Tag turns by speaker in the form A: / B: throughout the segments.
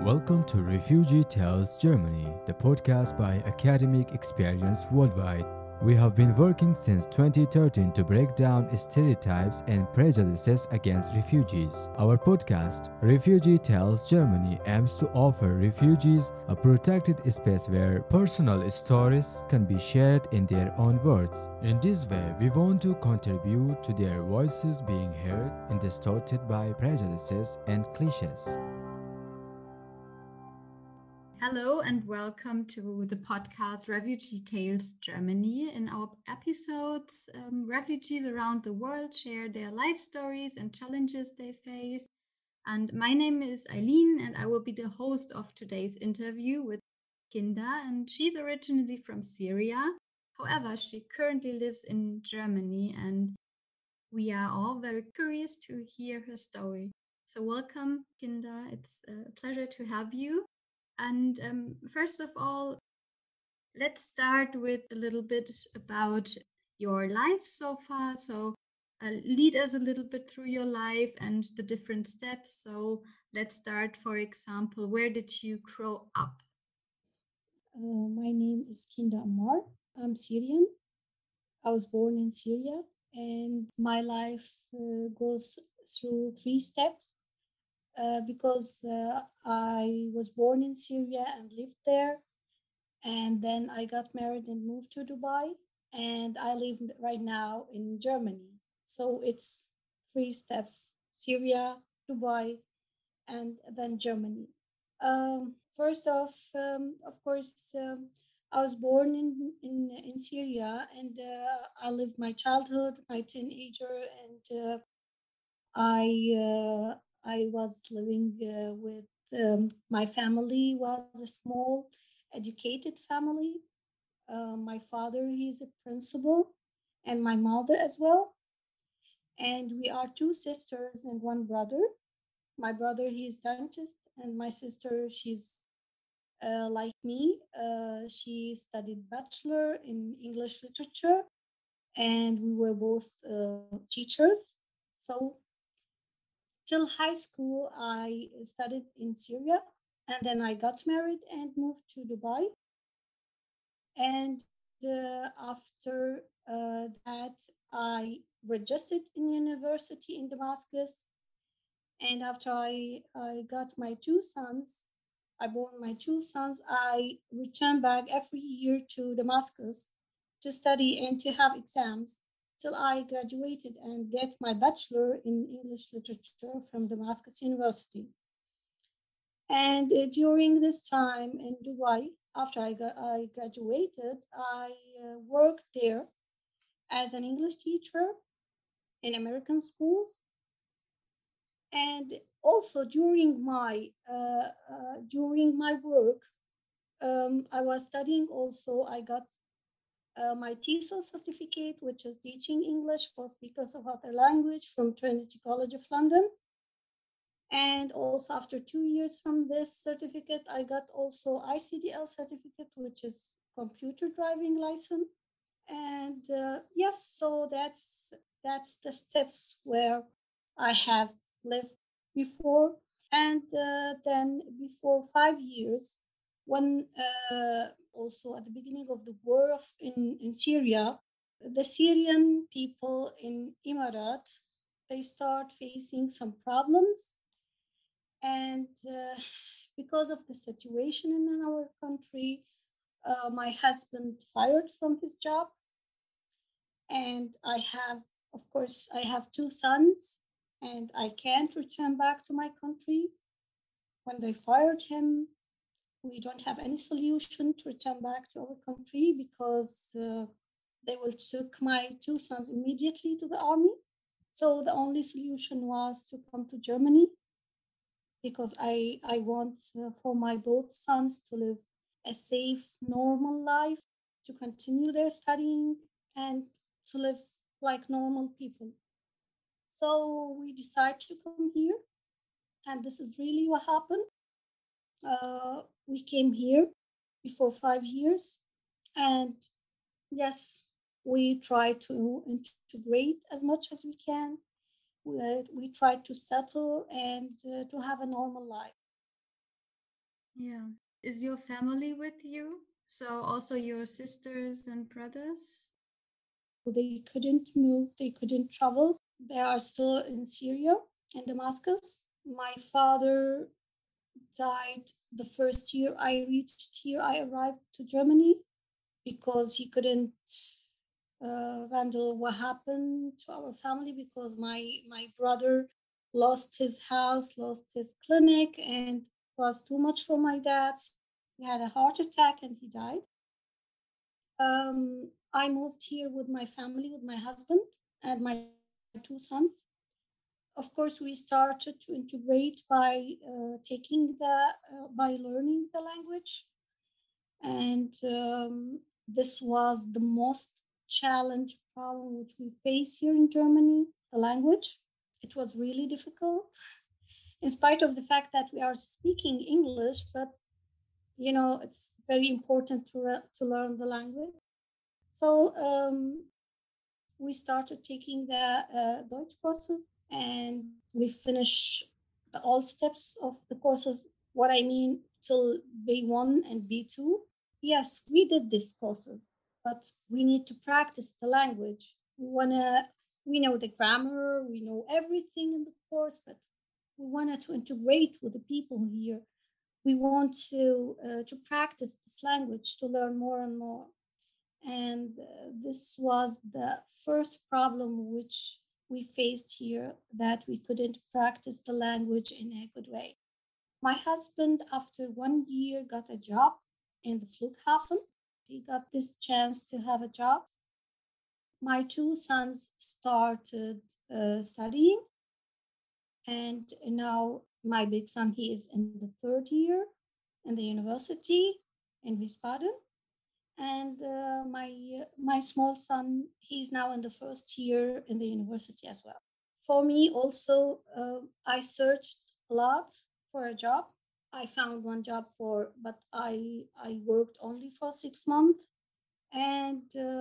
A: Welcome to Refugee Tales Germany, the podcast by Academic Experience Worldwide. We have been working since 2013 to break down stereotypes and prejudices against refugees. Our podcast, Refugee Tales Germany, aims to offer refugees a protected space where personal stories can be shared in their own words. In this way, we want to contribute to their voices being heard and distorted by prejudices and cliches.
B: Hello and welcome to the podcast Refugee Tales Germany. In our episodes, refugees around the world share their life stories and challenges they face. And my name is Eileen, and I will be the host of today's interview with Kinda. And she's originally from Syria. However, she currently lives in Germany, and we are all very curious to hear her story. So, welcome, Kinda. It's a pleasure to have you. And first of all, let's start with a little bit about your life so far. So, lead us a little bit through your life and the different steps. So, let's start, for example, where did you grow up?
C: My name is Kinda Ammar. I'm Syrian. I was born in Syria, and my life goes through three steps because I was born in Syria and lived there, and then I got married and moved to Dubai, and I live right now in Germany. So it's three steps: Syria, Dubai, and then Germany. First off, of course, I was born in Syria, and I lived my childhood, my teenager, and I I was living with my family was a small, educated family. My father he's a principal, and my mother as well. And we are two sisters and one brother. My brother he's dentist, and my sister she's like me. She studied bachelor in English literature, and we were both teachers. So till high school, I studied in Syria, and then I got married and moved to Dubai. And after that, I registered in university in Damascus. And after I got my two sons, I born my two sons, I returned back every year to Damascus to study and to have exams till I graduated and get my bachelor in English literature from Damascus University. And during this time in Dubai, after I graduated, I worked there as an English teacher in American schools. And also during my work, I was studying. Also, I got my TESOL certificate, which is teaching English for speakers of other language from Trinity College of London. And also after 2 years from this certificate, I got also ICDL certificate, which is computer driving license. And yes, so that's the steps where I have lived before. And then before 5 years, when also at the beginning of the war in Syria, the Syrian people in Emirat, they start facing some problems. And because of the situation in our country, my husband fired from his job. And I have two sons, and I can't return back to my country. When they fired him, we don't have any solution to return back to our country because they will took my two sons immediately to the army. So the only solution was to come to Germany because I want for my both sons to live a safe, normal life, to continue their studying, and to live like normal people. So we decided to come here, and this is really what happened. We came here before 5 years, and yes, we try to integrate as much as we can. We try to settle and to have a normal life.
B: Yeah. Is your family with you? So also your sisters and brothers?
C: They couldn't move, they couldn't travel. They are still in Syria, in Damascus. My father died the first year I reached here. I arrived to Germany because he couldn't handle what happened to our family because my brother lost his house, lost his clinic, and it was too much for my dad. He had a heart attack and he died. I moved here with my family, with my husband and my two sons. Of course, we started to integrate by by learning the language, and this was the most challenge problem which we face here in Germany. The language, it was really difficult, in spite of the fact that we are speaking English, but it's very important to learn the language. So we started taking the Deutsch courses, and we finish all steps of the courses. What I mean, till B1 and B2. Yes, we did these courses, but we need to practice the language. We know the grammar, we know everything in the course, but we wanted to integrate with the people here. We want to practice this language to learn more and more. And this was the first problem which we faced here, that we couldn't practice the language in a good way. My husband, after 1 year, got a job in the Flughafen. He got this chance to have a job. My two sons started studying, and now my big son, he is in the third year in the university in Wiesbaden, and my small son, he's now in the first year in the university as well. For me, also, I searched a lot for a job. I found one job but I worked only for 6 months, and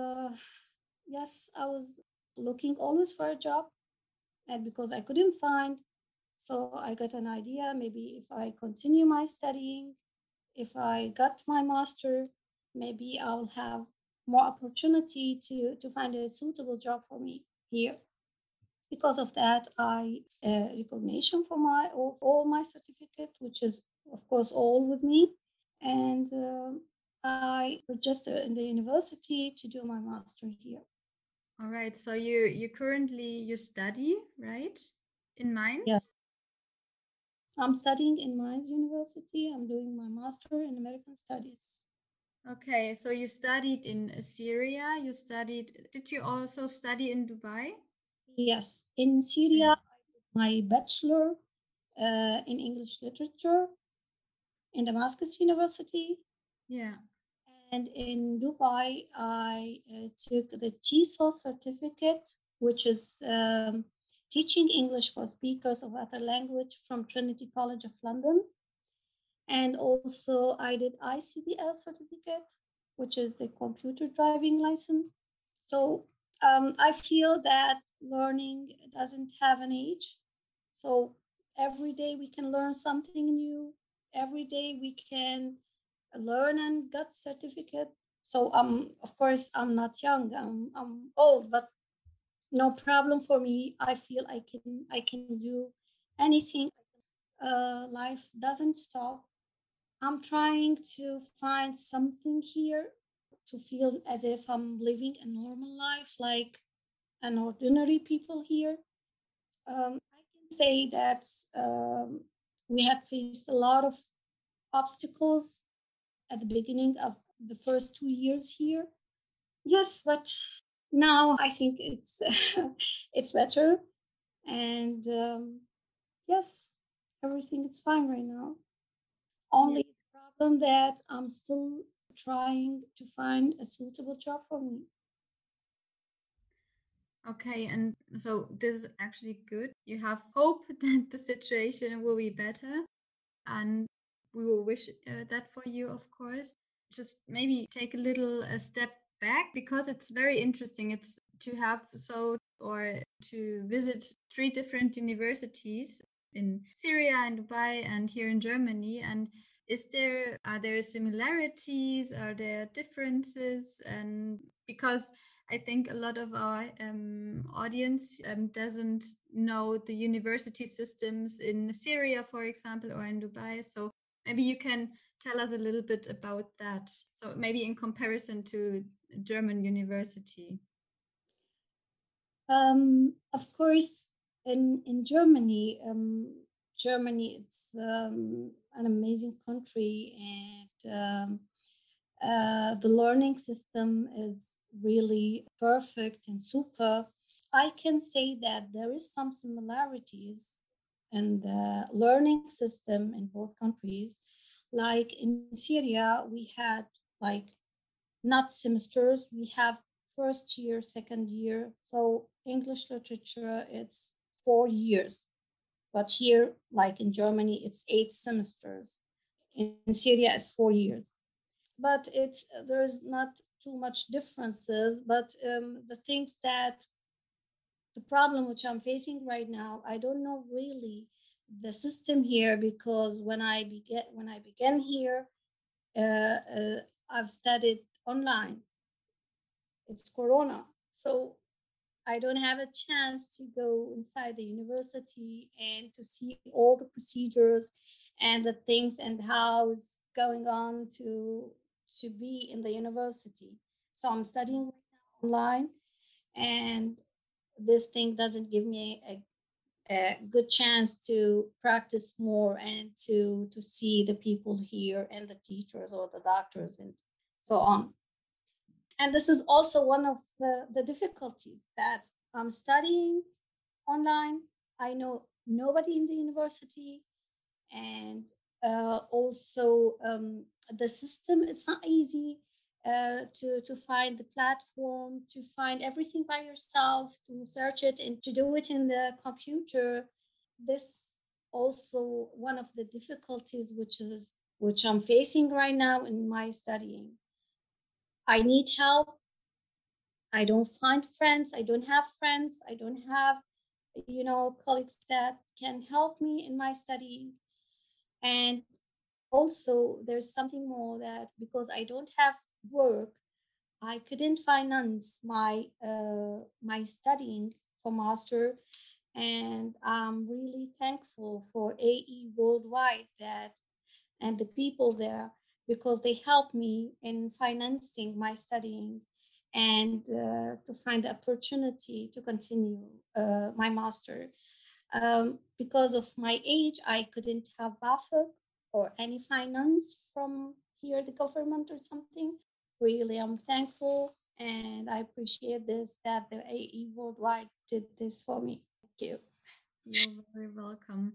C: yes, I was looking always for a job, and because I couldn't find, so I got an idea. Maybe if I continue my studying, if I got my master, maybe I'll have more opportunity to find a suitable job for me here. Because of that, I recognition for all my certificate, which is of course all with me, and I registered in the university to do my master here.
B: All right. So you currently you study, right? In
C: Yes,
B: Mainz?
C: I'm studying in Mainz University. I'm doing my master in American Studies.
B: Okay, so you studied in Syria. Did you also study in Dubai?
C: Yes, in Syria,
B: Okay.
C: I did my bachelor in English literature in Damascus University.
B: Yeah.
C: And in Dubai, I took the TESOL certificate, which is teaching English for speakers of other language from Trinity College of London. And also, I did ICDL certificate, which is the computer driving license. So I feel that learning doesn't have an age. So every day we can learn something new. Every day we can learn and get certificate. So of course I'm not young. I'm old, but no problem for me. I feel I can do anything. Life doesn't stop. I'm trying to find something here to feel as if I'm living a normal life, like an ordinary people here. I can say that we have faced a lot of obstacles at the beginning of the first 2 years here. Yes, but now I think it's it's better, and yes, everything is fine right now.
B: Yeah.
C: Only the problem that I'm still trying to find a suitable job for me.
B: Okay, and so this is actually good. You have hope that the situation will be better, and we will wish that for you, of course. Just maybe take a little step back because it's very interesting. It's to have or to visit three different universities in Syria and Dubai and here in Germany. And Are there similarities? Are there differences? And because I think a lot of our audience doesn't know the university systems in Syria, for example, or in Dubai. So maybe you can tell us a little bit about that. So maybe in comparison to German university.
C: Of course, in Germany, Germany it's an amazing country, and the learning system is really perfect and super. I can say that there is some similarities in the learning system in both countries. Like in Syria, we had like not semesters, we have first year, second year. So English literature, it's 4 years. But here, like in Germany, it's 8 semesters. In Syria, it's 4 years. But there's not too much differences. But the things that the problem which I'm facing right now, I don't know really the system here, because when I began here, uh, uh, I've studied online. It's Corona, so I don't have a chance to go inside the university and to see all the procedures and the things and how it's going on to be in the university. So I'm studying online, and this thing doesn't give me a good chance to practice more and to see the people here and the teachers or the doctors and so on. And this is also one of the difficulties, that I'm studying online. I know nobody in the university, and also the system, it's not easy to find the platform, to find everything by yourself, to search it and to do it in the computer. This also one of the difficulties which I'm facing right now in my studying. I need help. I don't find friends. I don't have friends. I don't have, colleagues that can help me in my studying. And also, there's something more, that because I don't have work, I couldn't finance my studying for master. And I'm really thankful for AE Worldwide that and the people there, because they helped me in financing my studying and to find the opportunity to continue my master. Because of my age, I couldn't have BAföG or any finance from here, the government or something. Really, I'm thankful, and I appreciate this, that the AE Worldwide did this for me. Thank you.
B: You're very welcome.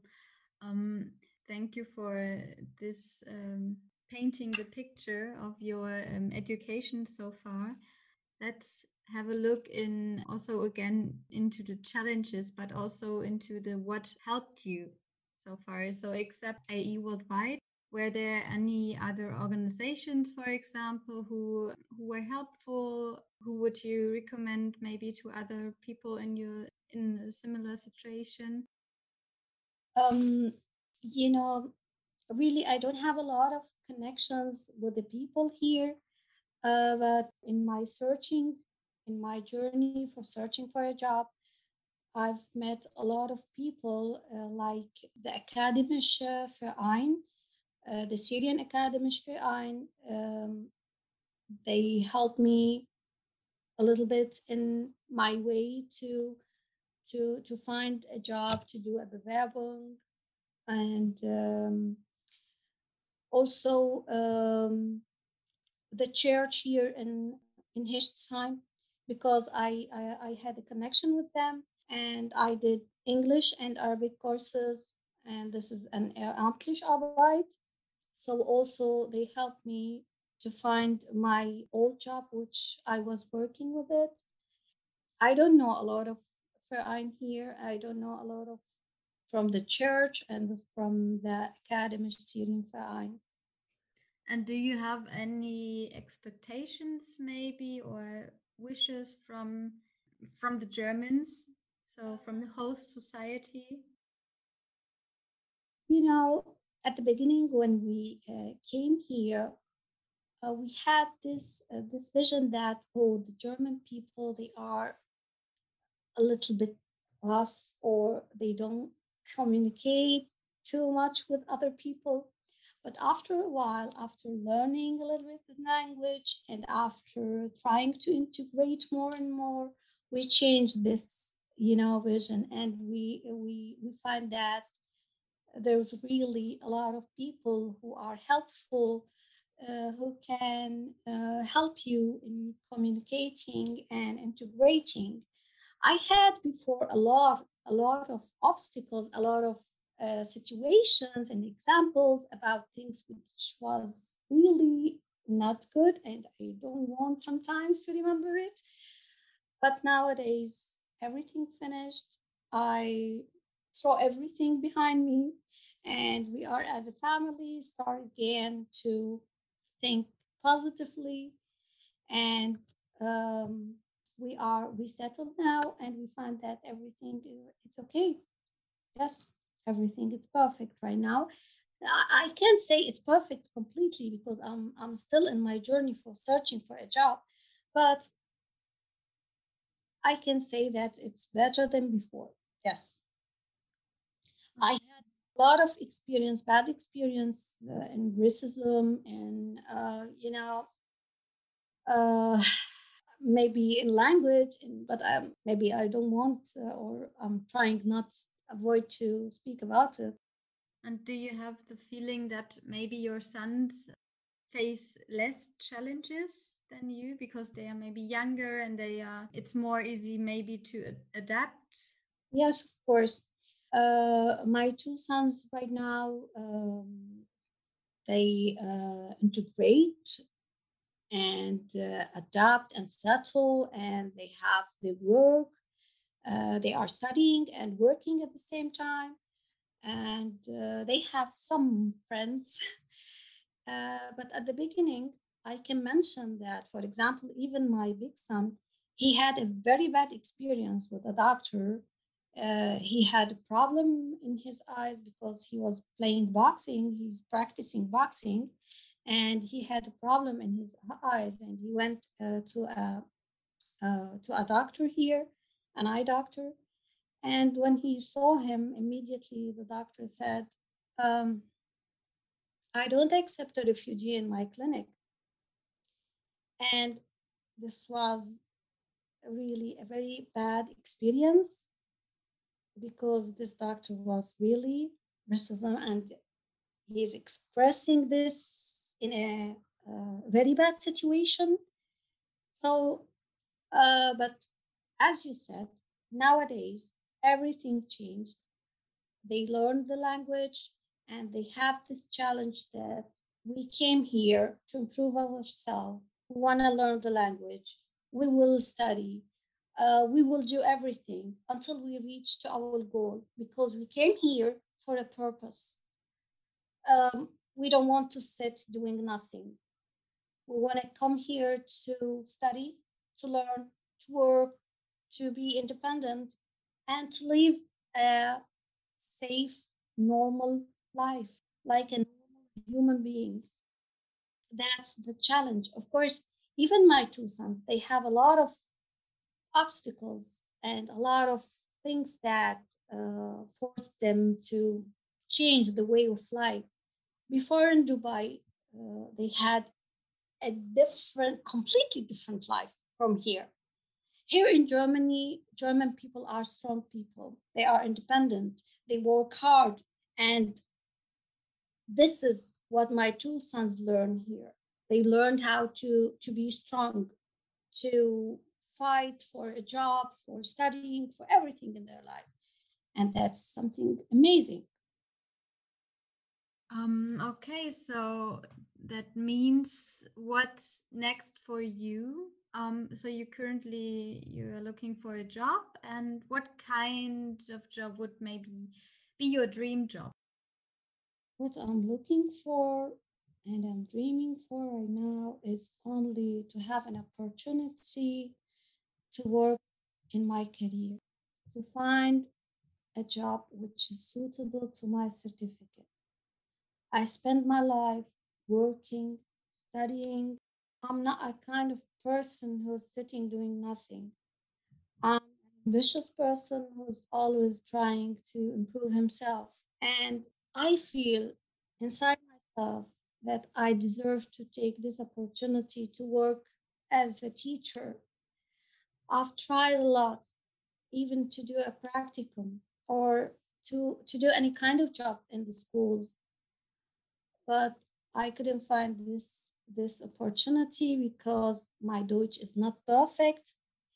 B: Thank you for this painting the picture of your education so far. Let's have a look in also again into the challenges, but also into the what helped you so far. So except AE Worldwide, were there any other organizations, for example, who were helpful? Who would you recommend maybe to other people in a similar situation?
C: Um, you know, really, I don't have a lot of connections with the people here, but in my searching, in my journey for searching for a job, I've met a lot of people, like the Akademische Verein, the Syrian Akademische Verein. They helped me a little bit in my way to find a job, to do a Bewerbung, and also the church here in Hechtsheim, because I had a connection with them, and I did English and Arabic courses, and this is an Ehrenamtliche Arbeit. So also they helped me to find my old job, which I was working with it. I don't know a lot of Verein here. I don't know a lot of from the church and from the Academy Syrian Verein.
B: And do you have any expectations maybe or wishes from the Germans, so from the host society?
C: You know, At the beginning, when we came here, we had this vision that, oh, the German people, they are a little bit rough, or they don't communicate too much with other people. But after a while, after learning a little bit the language and after trying to integrate more and more, we changed this, vision, and we find that there's really a lot of people who are helpful, who can help you in communicating and integrating. I had before a lot of obstacles, a lot of situations and examples about things which was really not good, and I don't want sometimes to remember it. But nowadays, everything finished. I throw everything behind me, and we are as a family start again to think positively, and um, we settled now, and we find that everything it's okay. Yes, everything is perfect right now. I can't say it's perfect completely because I'm still in my journey for searching for a job, but I can say that it's better than before. Yes, I had a lot of experience, bad experience in racism, and uh, maybe in language, but maybe I don't want, or I'm trying not avoid to speak about it.
B: And do you have the feeling that maybe your sons face less challenges than you because they are maybe younger and it's more easy maybe to adapt?
C: Yes, of course. My two sons right now, they integrate and adapt and settle, and they have the work. They are studying and working at the same time, and they have some friends. But at the beginning, I can mention that, for example, even my big son, he had a very bad experience with a doctor. He had a problem in his eyes because he was playing boxing, he's practicing boxing, and he had a problem in his eyes, and he went to a doctor here, an eye doctor. And when he saw him, immediately the doctor said, um, I don't accept a refugee in my clinic. And this was really a very bad experience because this doctor was really racism, and he's expressing this in a very bad situation. So, but as you said, nowadays everything changed. They learned the language, and they have this challenge that we came here to improve ourselves. We want to learn the language. We will study. We will do everything until we reach to our goal because we came here for a purpose. We don't want to sit doing nothing. We want to come here to study, to learn, to work, to be independent, and to live a safe, normal life, like a normal human being. That's the challenge. Of course, even my two sons, they have a lot of obstacles and a lot of things that force them to change the way of life. Before in Dubai, they had a different, completely different life from here. Here in Germany, German people are strong people. They are independent. They work hard. And this is what my two sons learned here. They learned how to be strong, to fight for a job, for studying, for everything in their life. And that's something amazing.
B: Okay, so that means what's next for you? So you're looking for a job, and what kind of job would maybe be your dream job?
C: What I'm looking for and I'm dreaming for right now is only to have an opportunity to work in my career, to find a job which is suitable to my certificate. I spend my life working, studying. I'm not a kind of person who's sitting doing nothing. I'm an ambitious person who's always trying to improve himself. And I feel inside myself that I deserve to take this opportunity to work as a teacher. I've tried a lot, even to do a practicum or to do any kind of job in the schools, but I couldn't find this opportunity because my Deutsch is not perfect.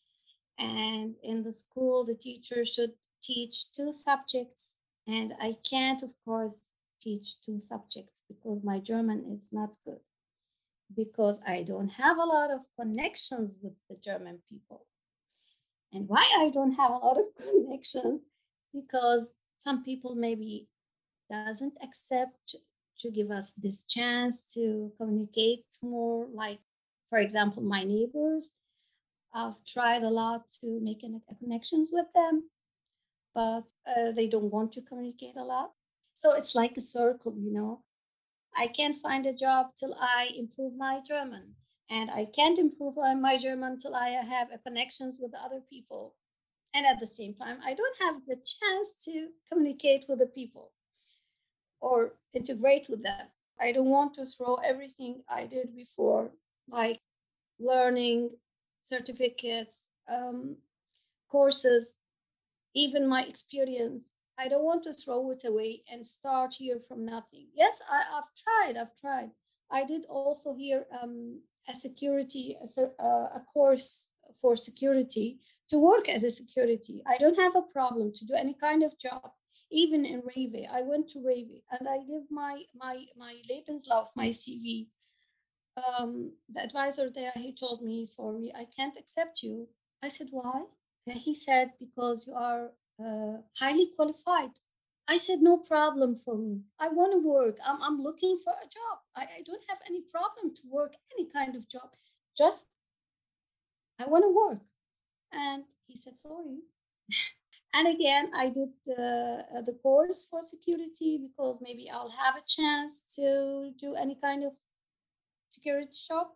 C: And in the school, the teacher should teach two subjects, and I can't, of course, teach two subjects because my German is not good, because I don't have a lot of connections with the German people. And why I don't have a lot of connections? Because some people maybe doesn't accept to give us this chance to communicate more. Like, for example, my neighbors, I've tried a lot to make connections with them, but they don't want to communicate a lot. So it's like a circle, you know. I can't find a job till I improve my German. And I can't improve my German till I have connections with other people. And at the same time, I don't have the chance to communicate with the people or integrate with them. I don't want to throw everything I did before, like learning, certificates, courses, even my experience. I don't want to throw it away and start here from nothing. Yes, I've tried. I've tried. I did also here a security, a course for security to work as a security. I don't have a problem to do any kind of job. Even in Rave, I went to Rave and I give my Lebenslauf, my CV. The advisor there, he told me, sorry, I can't accept you. I said, why? He said, because you are highly qualified. I said, no problem for me. I want to work. I'm looking for a job. I don't have any problem to work any kind of job. Just, I want to work. And he said, sorry. And again, I did the course for security because maybe I'll have a chance to do any kind of security job.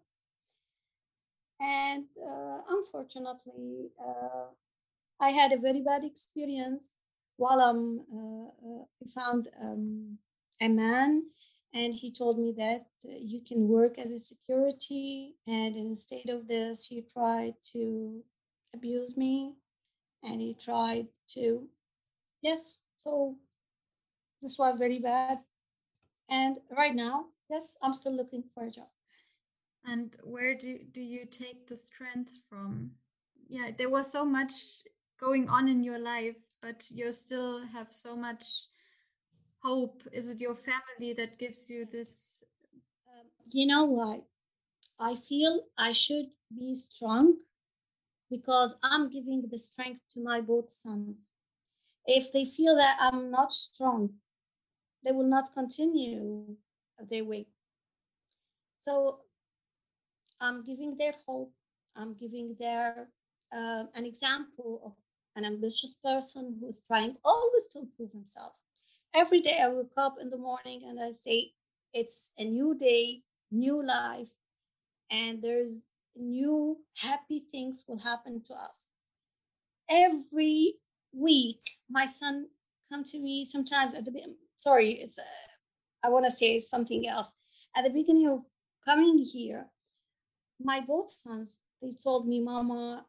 C: And unfortunately, I had a very bad experience while I found a man, and he told me that you can work as a security, and instead of this, he tried to abuse me, and he tried to, yes, so this was very bad. And right now, yes, I'm still looking for a job.
B: And where do you take the strength from? Yeah, there was so much going on in your life, but you still have so much hope. Is it your family that gives you this?
C: You know what? I feel I should be strong because I'm giving the strength to my both sons. If they feel that I'm not strong, they will not continue their way. So I'm giving their hope. I'm giving their an example of an ambitious person who is trying always to improve himself. Every day I wake up in the morning and I say, it's a new day, new life, and there's new happy things will happen to us. Every week, my son come to me sometimes at the sorry, it's I want to say something else. At the beginning of coming here, my both sons they told me, Mama,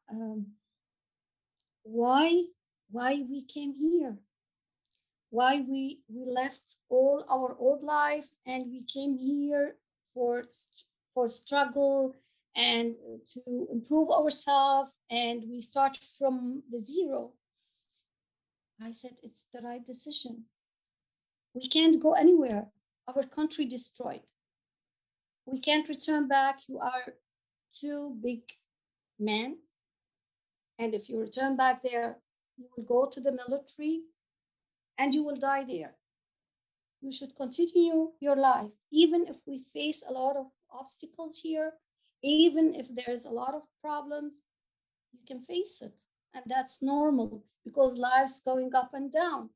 C: why we came here, why we left all our old life and we came here for struggle and to improve ourselves, and we start from the zero. I said it's the right decision. We can't go anywhere. Our country destroyed. We can't return back. You are two big men, and if you return back there, you will go to the military and you will die there. You should continue your life, even if we face a lot of obstacles here, even if there's a lot of problems, you can face it. And that's normal because life's going up and down.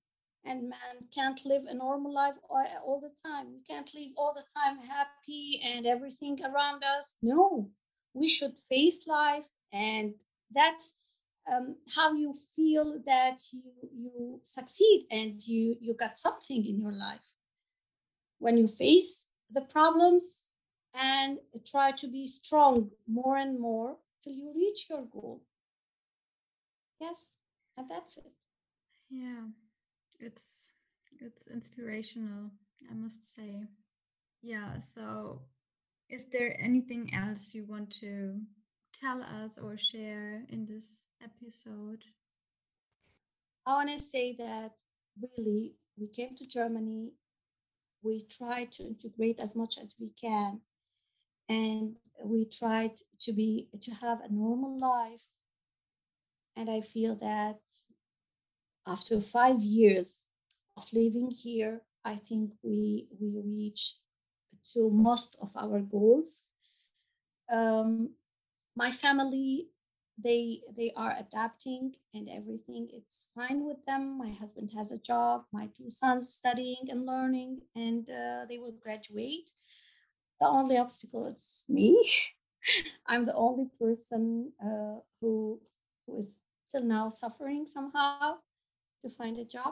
C: and man can't live a normal life all the time. We can't live all the time happy and everything around us. No, we should face life, and that's how you feel that you succeed and you got something in your life when you face the problems and try to be strong more and more till you reach your goal. Yes, and that's it.
B: Yeah, it's it's inspirational, I must say. Yeah, so is there anything else you want to tell us or share in this episode?
C: I want to say that really we came to Germany, we tried to integrate as much as we can, and we tried to have a normal life. And I feel that after 5 years of living here, I think we reached to most of our goals. Um, my family, they are adapting and everything. It's fine with them. My husband has a job. My two sons studying and learning, and they will graduate. The only obstacle is me. I'm the only person who is till now suffering somehow to find a job.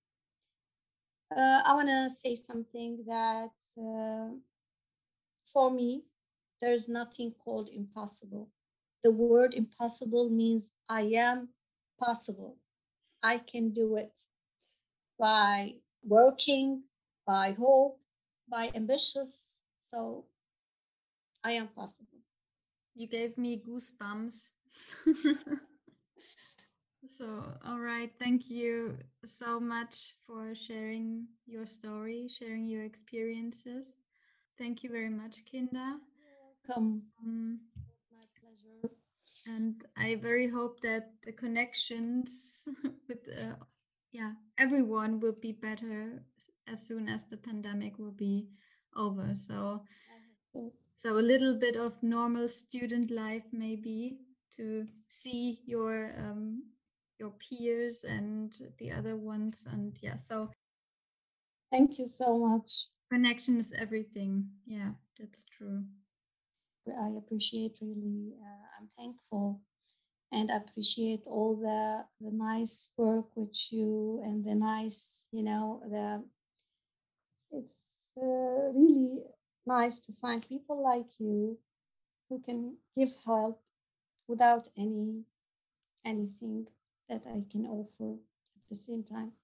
C: I want to say something that for me, there's nothing called impossible. The word impossible means I am possible. I can do it by working, by hope, by ambitious. So I am possible.
B: You gave me goosebumps. So, all right, thank you so much for sharing your story, sharing your experiences. Thank you very much, Kinder.
C: Welcome.
B: Um,
C: My pleasure.
B: and I very hope that the connections with everyone will be better as soon as the pandemic will be over. So so a little bit of normal student life maybe, to see your peers and the other ones. And yeah, so
C: Thank you so much.
B: connection is everything. Yeah, that's true.
C: I appreciate really. I'm thankful and appreciate all the nice work which you and the nice, the it's really nice to find people like you who can give help without anything that I can offer at the same time.